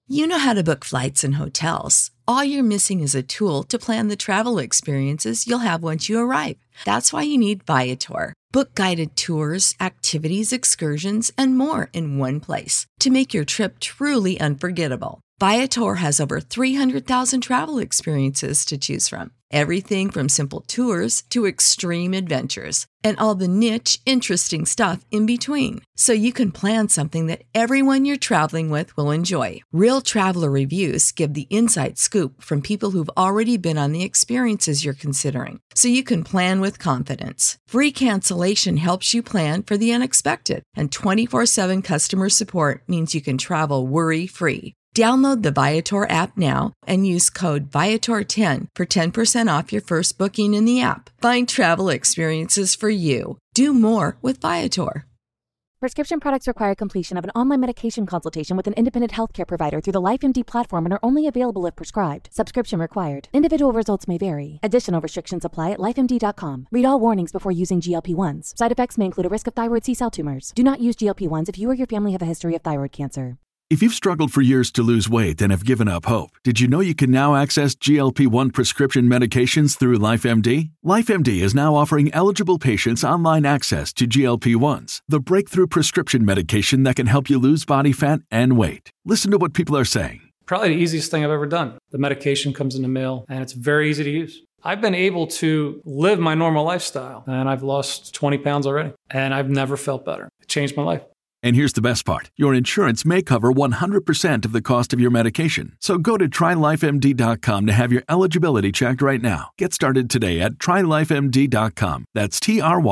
You know how to book flights and hotels. All you're missing is a tool to plan the travel experiences you'll have once you arrive. That's why you need Viator. Book guided tours, activities, excursions, and more in one place to make your trip truly unforgettable. Viator has over 300,000 travel experiences to choose from. Everything from simple tours to extreme adventures and all the niche, interesting stuff in between. So you can plan something that everyone you're traveling with will enjoy. Real traveler reviews give the inside scoop from people who've already been on the experiences you're considering. So you can plan with confidence. Free cancellation helps you plan for the unexpected. And 24/7 customer support means you can travel worry-free. Download the Viator app now and use code Viator10 for 10% off your first booking in the app. Find travel experiences for you. Do more with Viator. Prescription products require completion of an online medication consultation with an independent healthcare provider through the LifeMD platform and are only available if prescribed. Subscription required. Individual results may vary. Additional restrictions apply at lifemd.com. Read all warnings before using GLP-1s. Side effects may include a risk of thyroid C-cell tumors. Do not use GLP-1s if you or your family have a history of thyroid cancer. If you've struggled for years to lose weight and have given up hope, did you know you can now access GLP-1 prescription medications through LifeMD? LifeMD is now offering eligible patients online access to GLP-1s, the breakthrough prescription medication that can help you lose body fat and weight. Listen to what people are saying. Probably the easiest thing I've ever done. The medication comes in the mail, and it's very easy to use. I've been able to live my normal lifestyle, and I've lost 20 pounds already, and I've never felt better. It changed my life. And here's the best part. Your insurance may cover 100% of the cost of your medication. So go to TryLifeMD.com to have your eligibility checked right now. Get started today at TryLifeMD.com. That's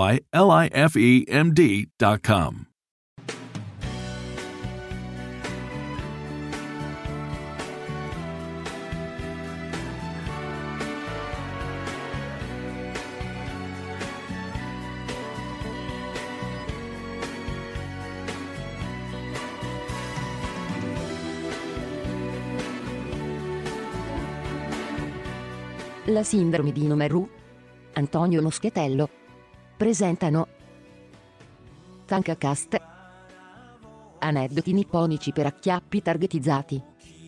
TryLifeMD.com. La sindrome di Nomaru, Antonio Moschetello, presentano Tankacast. Aneddoti nipponici per acchiappi targetizzati.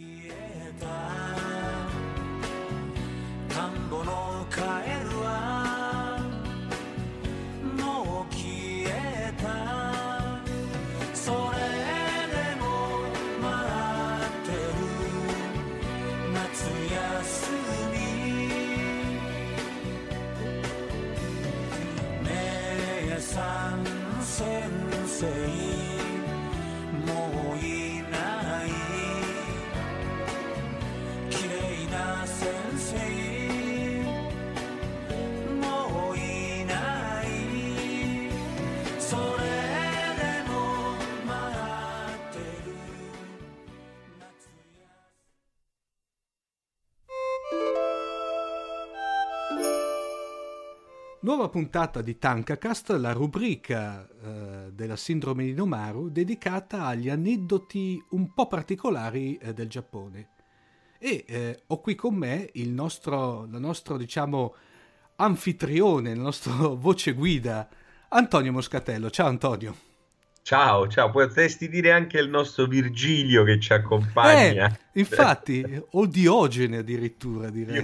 Nuova puntata di Tankacast, la rubrica della sindrome di Nomaru dedicata agli aneddoti un po' particolari del Giappone. E ho qui con me il nostro diciamo anfitrione, il nostro voce guida, Antonio Moscatello. Ciao Antonio. Ciao, potresti dire anche il nostro Virgilio che ci accompagna. Infatti, o Diogene addirittura, direi.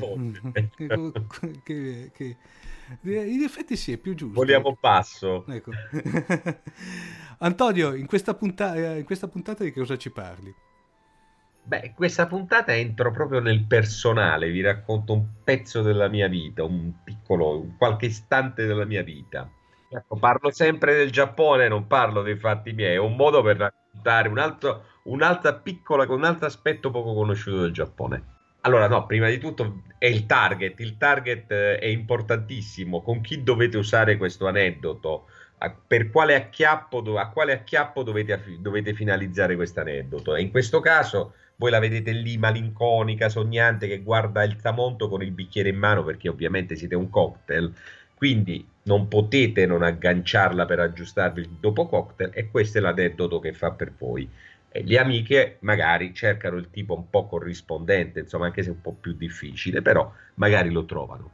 che in effetti sì, è più giusto. Voliamo basso. Ecco. Antonio, in questa puntata di che cosa ci parli? Beh, questa puntata entro proprio nel personale, vi racconto un pezzo della mia vita, qualche istante della mia vita. Ecco, parlo sempre del Giappone, non parlo dei fatti miei, è un modo per raccontare un altro aspetto poco conosciuto del Giappone. Allora, no, prima di tutto è il target è importantissimo, con chi dovete usare questo aneddoto, a quale acchiappo dovete finalizzare questo aneddoto. E in questo caso voi la vedete lì malinconica, sognante, che guarda il tramonto con il bicchiere in mano, perché ovviamente siete un cocktail, quindi non potete non agganciarla per aggiustarvi il dopo cocktail, e questo è l'aneddoto che fa per voi. E le amiche magari cercano il tipo un po' corrispondente, insomma, anche se è un po' più difficile, però magari lo trovano.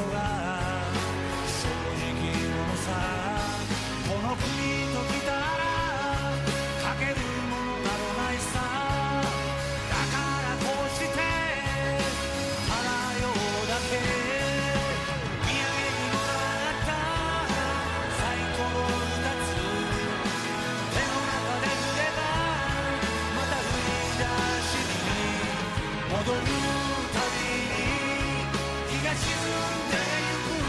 が正直者さこの国と来たらかけるものなどないさだからこうして払うようだけ土産にもらったサイコロ2つ手の中で振ればまた振り出しに戻るたびに日が沈んでゆく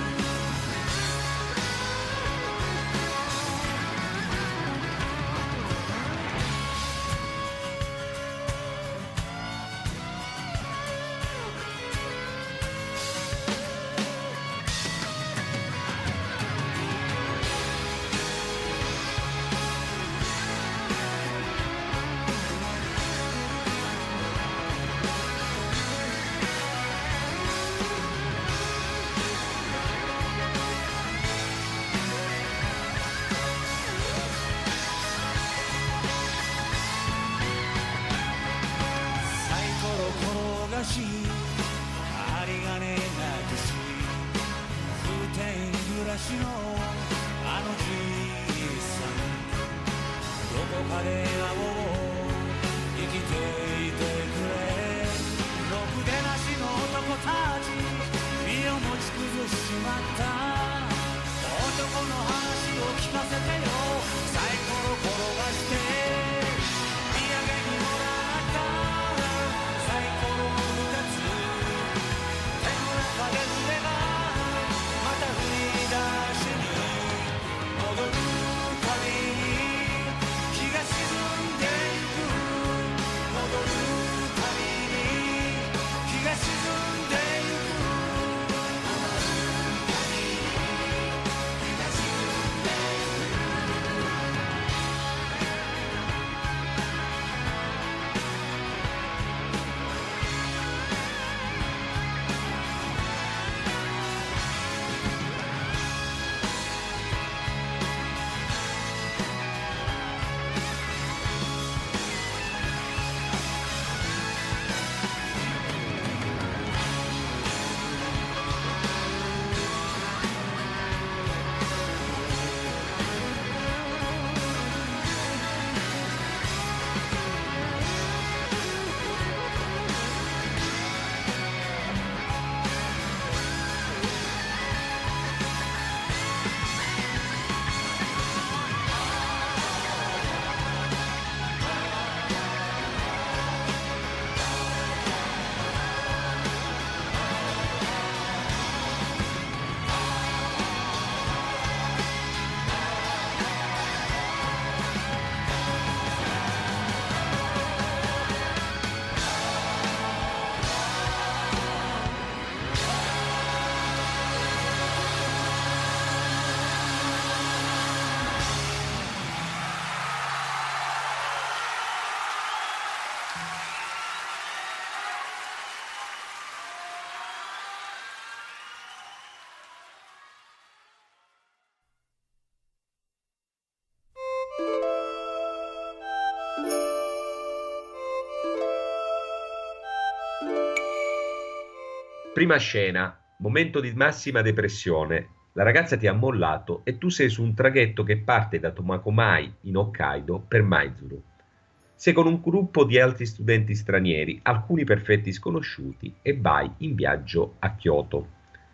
ありがねえなくし風天暮らしのあのじいさんどこかで会おう生きていてくれろくでなしの男たち身を持ち崩しまった男の話を聞かせてよサイコロ転がして土産にもらったサイコロ Prima scena, momento di massima depressione. La ragazza ti ha mollato e tu sei su un traghetto che parte da Tomakomai in Hokkaido per Maizuru. Sei con un gruppo di altri studenti stranieri, alcuni perfetti sconosciuti, e vai in viaggio a Kyoto.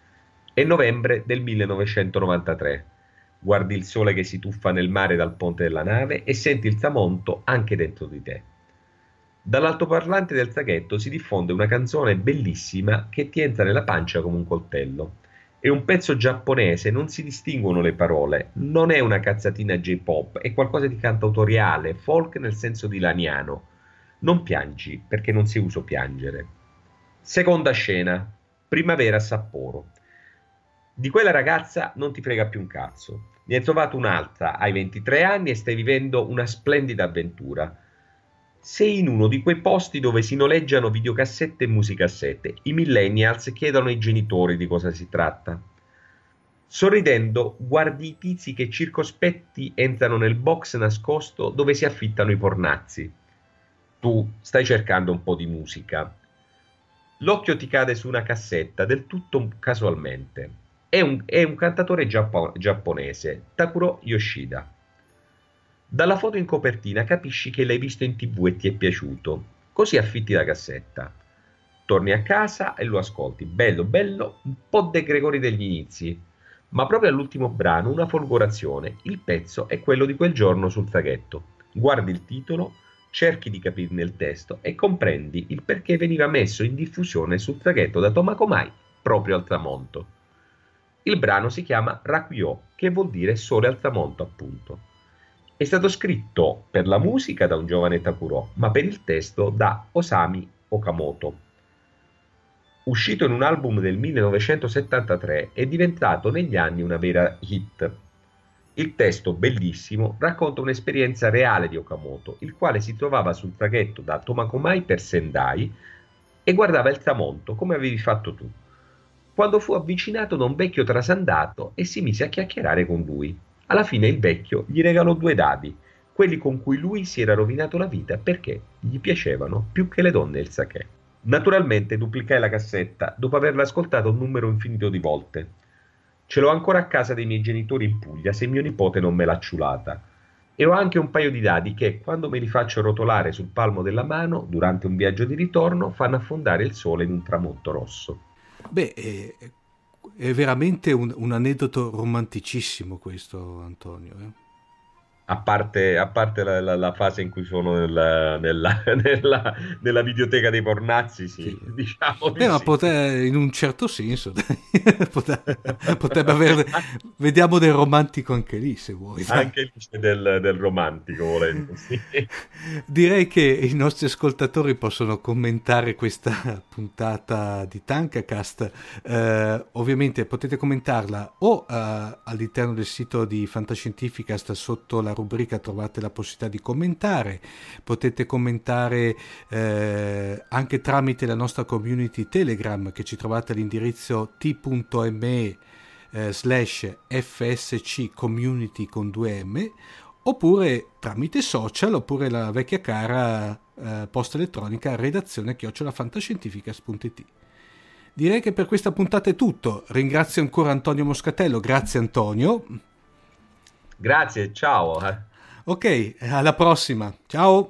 È novembre del 1993. Guardi il sole che si tuffa nel mare dal ponte della nave e senti il tramonto anche dentro di te. Dall'altoparlante del traghetto si diffonde una canzone bellissima che ti entra nella pancia come un coltello. È un pezzo giapponese, non si distinguono le parole, non è una cazzatina J-pop, è qualcosa di cantautoriale, folk nel senso di laniano. Non piangi, perché non si usa piangere. Seconda scena, primavera a Sapporo. Di quella ragazza non ti frega più un cazzo. Ne hai trovato un'altra, hai 23 anni e stai vivendo una splendida avventura. Sei in uno di quei posti dove si noleggiano videocassette e musicassette. I millennials chiedono ai genitori di cosa si tratta. Sorridendo, guardi i tizi che circospetti entrano nel box nascosto dove si affittano i pornazzi. Tu stai cercando un po' di musica. L'occhio ti cade su una cassetta del tutto casualmente. È un cantatore giapponese, Takuro Yoshida. Dalla foto in copertina capisci che l'hai visto in TV e ti è piaciuto. Così affitti la cassetta. Torni a casa e lo ascolti. Bello, bello, un po' De Gregori degli inizi. Ma proprio all'ultimo brano una folgorazione. Il pezzo è quello di quel giorno sul traghetto. Guardi il titolo, cerchi di capirne il testo e comprendi il perché veniva messo in diffusione sul traghetto da Tomakomai proprio al tramonto. Il brano si chiama Rakuyo, che vuol dire sole al tramonto, appunto. È stato scritto per la musica da un giovane Takuro, ma per il testo da Osami Okamoto. Uscito in un album del 1973, è diventato negli anni una vera hit. Il testo, bellissimo, racconta un'esperienza reale di Okamoto, il quale si trovava sul traghetto da Tomakomai per Sendai e guardava il tramonto, come avevi fatto tu, quando fu avvicinato da un vecchio trasandato e si mise a chiacchierare con lui. Alla fine il vecchio gli regalò 2 dadi, quelli con cui lui si era rovinato la vita perché gli piacevano più che le donne e il sake. Naturalmente duplicai la cassetta dopo averla ascoltata un numero infinito di volte. Ce l'ho ancora a casa dei miei genitori in Puglia se mio nipote non me l'ha ciulata. E ho anche un paio di dadi che, quando me li faccio rotolare sul palmo della mano, durante un viaggio di ritorno, fanno affondare il sole in un tramonto rosso. Beh, è veramente un aneddoto romanticissimo questo, Antonio. A parte la fase in cui sono nella videoteca dei pornazzi, sì. Diciamo di ma sì. in un certo senso potrebbe avere, vediamo del romantico anche lì, se vuoi. Anche lì c'è del romantico, volendo, sì. Direi che i nostri ascoltatori possono commentare questa puntata di Tankacast. Ovviamente potete commentarla o all'interno del sito di Fantascientificast, sotto la rubrica trovate la possibilità di commentare. Potete commentare anche tramite la nostra community Telegram, che ci trovate all'indirizzo t.me/fsc community con 2m, oppure tramite social, oppure la vecchia cara posta elettronica redazione@fantascientificast.it. Direi che per questa puntata è tutto. Ringrazio ancora Antonio Moscatello. Grazie Antonio. Grazie, ciao. Ok, alla prossima. Ciao.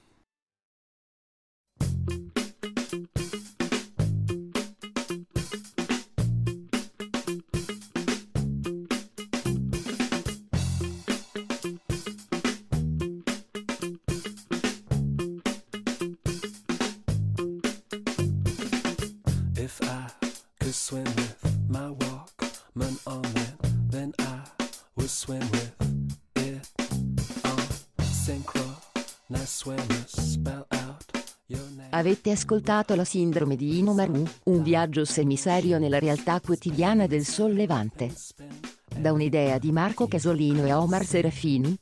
If I could swim with my Walkman on it, then I would swim with it on synchro. Nice swimmers, spell out your name. Avete ascoltato La sindrome di Inomaru, un viaggio semiserio nella realtà quotidiana del sollevante. Da un'idea di Marco Casolino e Omar Serafini.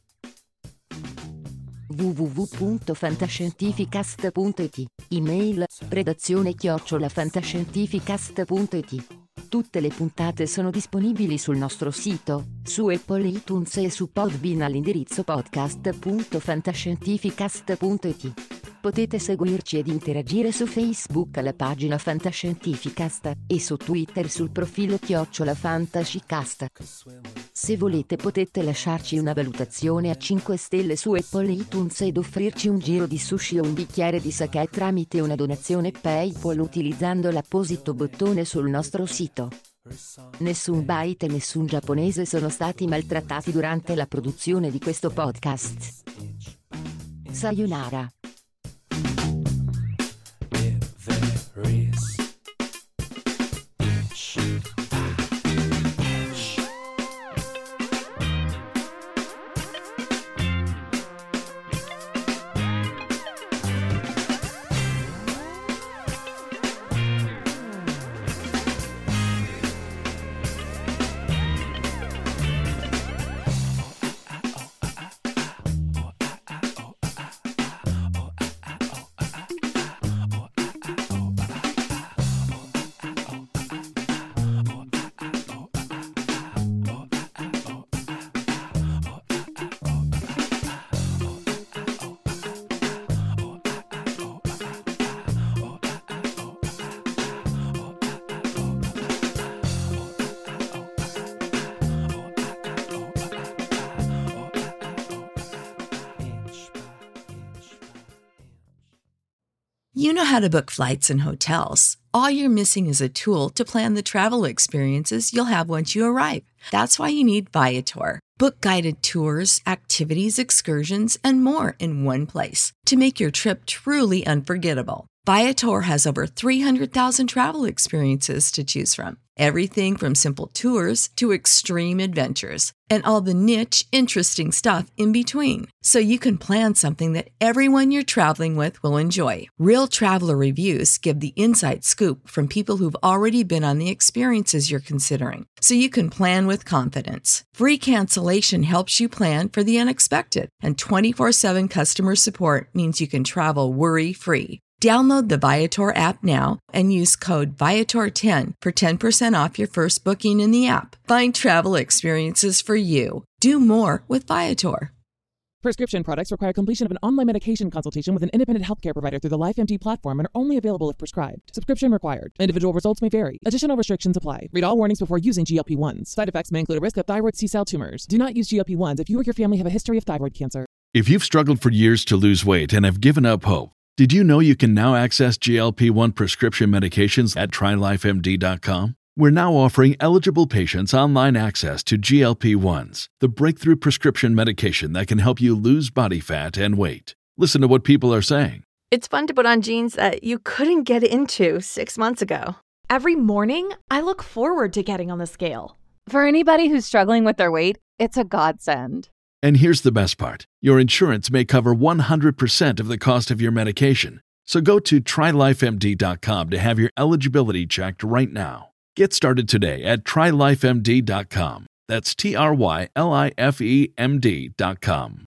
www.fantascientificast.it. Email redazione@fantascientificast.it. Tutte le puntate sono disponibili sul nostro sito, su Apple iTunes e su Podbean all'indirizzo podcast.fantascientificast.it. Potete seguirci ed interagire su Facebook alla pagina Fantascientificast e su Twitter sul profilo @fantascicast. Se volete potete lasciarci una valutazione a 5 stelle su Apple iTunes ed offrirci un giro di sushi o un bicchiere di sake tramite una donazione PayPal utilizzando l'apposito bottone sul nostro sito. Nessun byte e nessun giapponese sono stati maltrattati durante la produzione di questo podcast. Sayonara. It varies. You know how to book flights and hotels. All you're missing is a tool to plan the travel experiences you'll have once you arrive. That's why you need Viator. Book guided tours, activities, excursions, and more in one place to make your trip truly unforgettable. Viator has over 300,000 travel experiences to choose from. Everything from simple tours to extreme adventures and all the niche, interesting stuff in between. So you can plan something that everyone you're traveling with will enjoy. Real traveler reviews give the inside scoop from people who've already been on the experiences you're considering. So you can plan with confidence. Free cancellation helps you plan for the unexpected. And 24/7 customer support means you can travel worry-free. Download the Viator app now and use code Viator10 for 10% off your first booking in the app. Find travel experiences for you. Do more with Viator. Prescription products require completion of an online medication consultation with an independent healthcare provider through the LifeMD platform and are only available if prescribed. Subscription required. Individual results may vary. Additional restrictions apply. Read all warnings before using GLP-1s. Side effects may include a risk of thyroid C-cell tumors. Do not use GLP-1s if you or your family have a history of thyroid cancer. If you've struggled for years to lose weight and have given up hope, did you know you can now access GLP-1 prescription medications at TryLifeMD.com? We're now offering eligible patients online access to GLP-1s, the breakthrough prescription medication that can help you lose body fat and weight. Listen to what people are saying. It's fun to put on jeans that you couldn't get into 6 months ago. Every morning, I look forward to getting on the scale. For anybody who's struggling with their weight, it's a godsend. And here's the best part. Your insurance may cover 100% of the cost of your medication. So go to TryLifeMD.com to have your eligibility checked right now. Get started today at TryLifeMD.com. That's TryLifeMD.com.